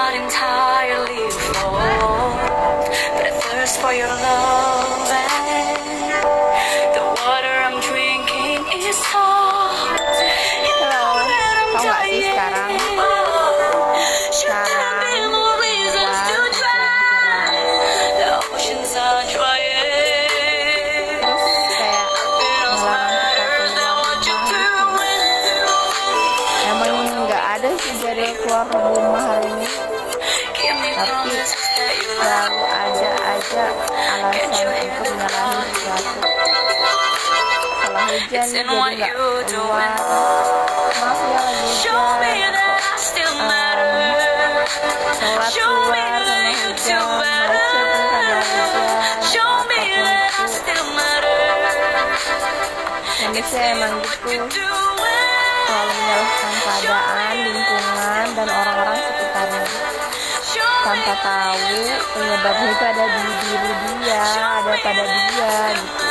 not entirely full, but I thirst for your love, and the water I'm drinking is salt. You know that I'm Tahu nggak sih dying. sekarang Should there be more reasons to try? The oceans are drying. terus kayak melarang kita keluar rumah. Emang nggak ada sih jadwal keluar rumah hari ini, tapi selalu ada aja alasan untuk menyalahi sesuatu. Kalau hujan jadi nggak keluar, maaf ya lagi hujan, sholat keluar sama hujan, macet karena hujan, manusia emang gitu, selalu menyalahkan keadaan, lingkungan, dan orang-orang sekitarnya tanpa tahu penyebabnya itu ada di diri dia, ada pada dia gitu.